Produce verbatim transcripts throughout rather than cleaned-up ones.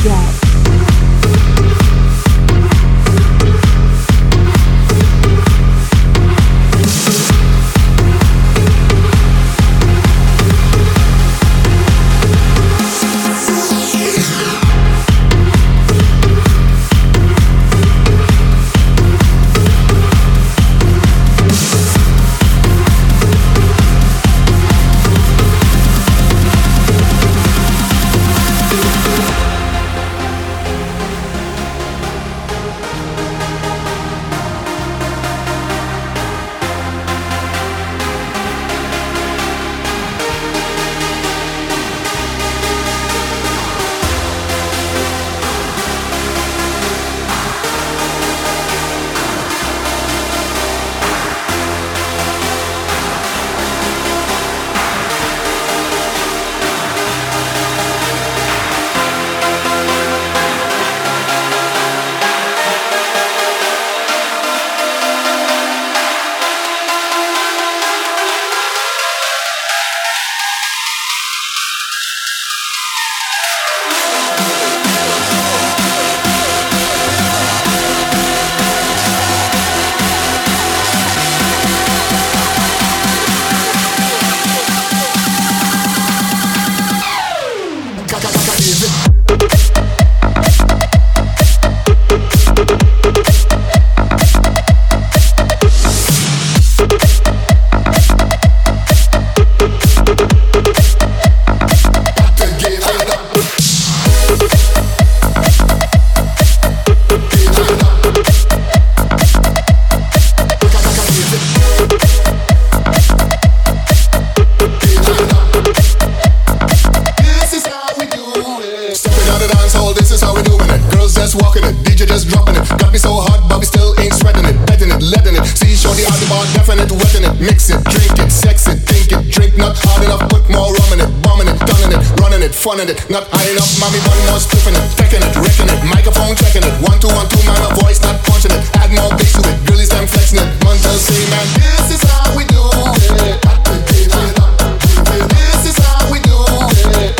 Funning it, not high enough, mommy, one more spliffing it, taking it, wrecking it, microphone checking it, one two one two, man, my voice not punching it, add more bass to it, girlies them flexing it, Montel say, man, this is how we do it, got to give it up, give it, this is how we do it,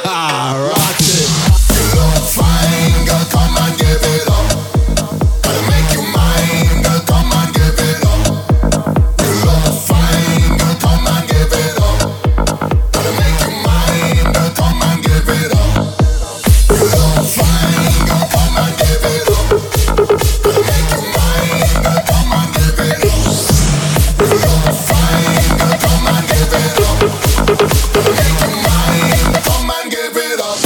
rock it, you look fine, girl, come and give it up, gotta make you mine, girl, come and give it up, you look fine, girl, come and give it up, gotta make you mine, girl, come and give it up. You look fine, girl, come and give it up. Gonna make you mine, girl, come and give it up. You look fine, girl, come and give it up. Gonna make you mine, come and give it up.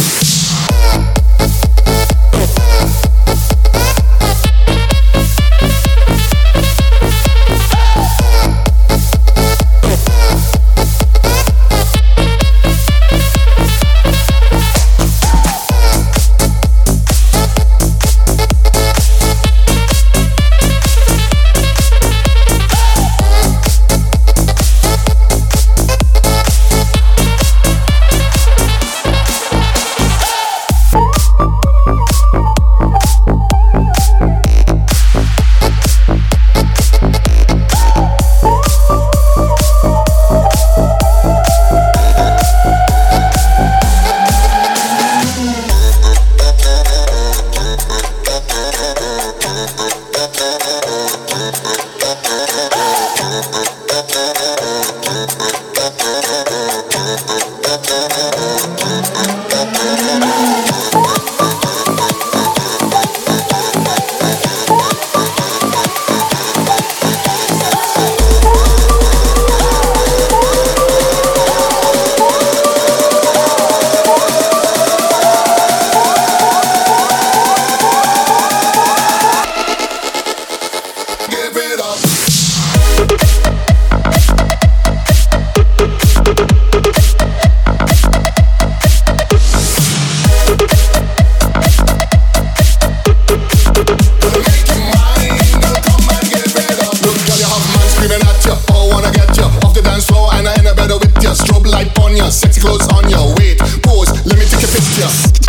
Sexy clothes on your weight. Pose, let me take a picture.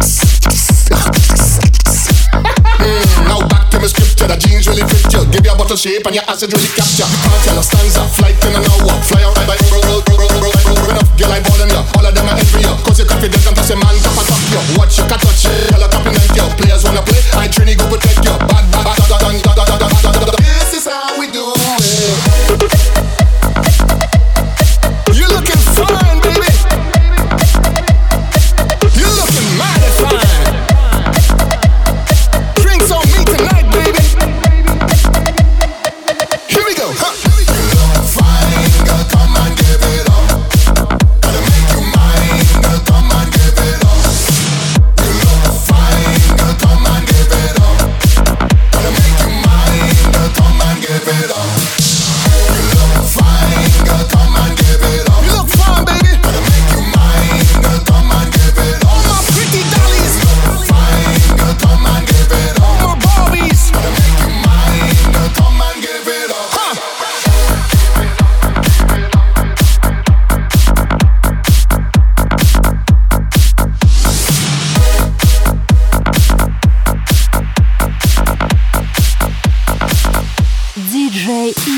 mm, now back to my scripture. The jeans really fit you. Give you a bottle shape and your acid really capture. You can't tell a stanza, flight in an hour. Fly out right by roll, roll, roll, roll, roll, roll enough. Girl, I ballin' ya. All of them are envy ya. Cause you're confident and toss a man top and top you. Watch you can touch it. Girl, a compliment.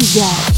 get.